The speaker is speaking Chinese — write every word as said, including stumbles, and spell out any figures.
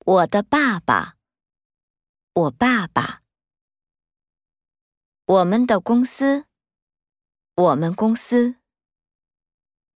我的爸爸，我爸爸。我们的公司，我们公司。